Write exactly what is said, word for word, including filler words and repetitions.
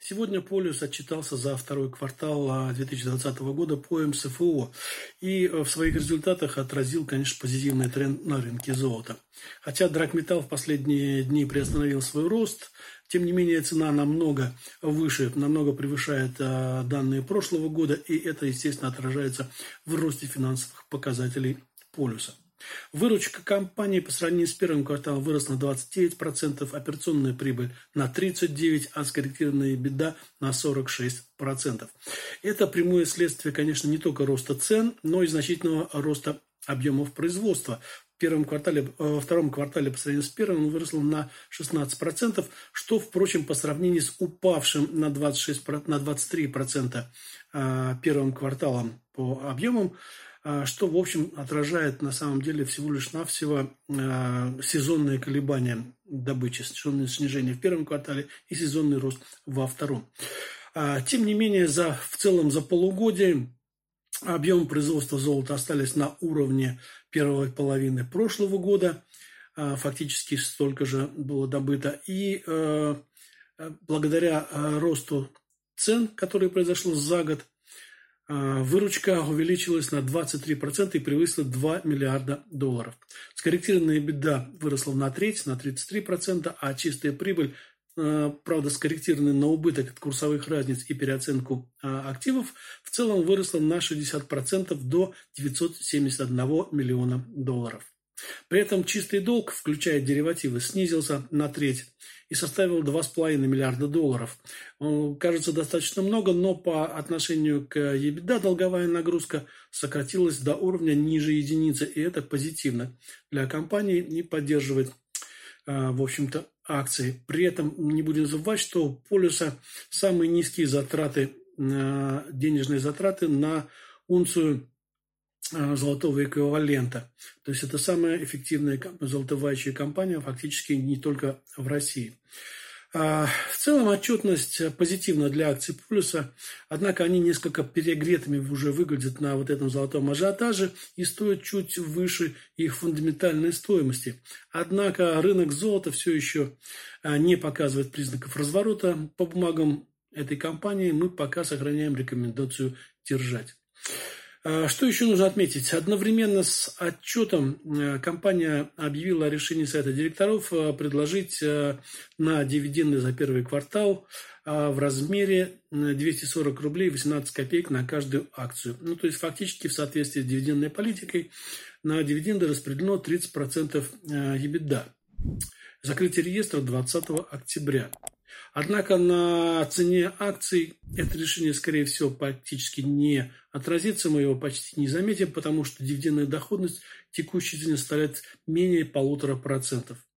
Сегодня Полюс отчитался за второй квартал две тысячи двадцатого года по эм эс эф о и в своих результатах отразил, конечно, позитивный тренд на рынке золота. Хотя драгметалл в последние дни приостановил свой рост, тем не менее цена намного выше, намного превышает а, данные прошлого года, и это, естественно, отражается в росте финансовых показателей Полюса. Выручка компании по сравнению с первым кварталом выросла на двадцать девять процентов, операционная прибыль на тридцать девять процентов, а скорректированная EBITDA на сорок шесть процентов. Это прямое следствие, конечно, не только роста цен, но и значительного роста объемов производства. В первом квартале, во втором квартале по сравнению с первым он вырос на шестнадцать процентов, что, впрочем, по сравнению с упавшим на двадцать шесть, на двадцать три процента первым кварталом по объемам, что, в общем, отражает на самом деле всего лишь навсего э, сезонные колебания добычи, сезонное снижение в первом квартале и сезонный рост во втором. А, тем не менее, за, в целом за полугодие объемы производства золота остались на уровне первой половины прошлого года, а, фактически столько же было добыто. И э, благодаря э, росту цен, который произошел за год, выручка увеличилась на двадцать три процента и превысила два миллиарда долларов. Скорректированная EBITDA выросла на треть, на тридцать три процента, а чистая прибыль, правда, скорректированная на убыток от курсовых разниц и переоценку активов, в целом выросла на шестьдесят процентов до девятьсот семьдесят один миллиона долларов. При этом чистый долг, включая деривативы, снизился на треть и составил два с половиной миллиарда долларов. Кажется, достаточно много, но по отношению к EBITDA долговая нагрузка сократилась до уровня ниже единицы, и это позитивно для компании и поддерживает, в общем-то, акции. При этом не будем забывать, что у Полюса самые низкие затраты, денежные затраты на унцию золотого эквивалента. То есть это самая эффективная золотовающая компания фактически не только в России. В целом отчетность позитивна для акций Полюса, однако они несколько перегретыми уже выглядят на вот этом золотом ажиотаже и стоят чуть выше их фундаментальной стоимости. Однако рынок золота все еще не показывает признаков разворота. По бумагам этой компании мы пока сохраняем рекомендацию держать. Что еще нужно отметить? Одновременно с отчетом компания объявила о решении совета директоров предложить на дивиденды за первый квартал в размере двести сорок рублей восемнадцать копеек на каждую акцию. Ну, то есть фактически в соответствии с дивидендной политикой на дивиденды распределено тридцать процентов EBITDA. Закрытие реестра двадцатого октября. Однако на цене акций это решение, скорее всего, практически не отразится, мы его почти не заметим, потому что дивидендная доходность текущей цены составляет менее полутора процентов.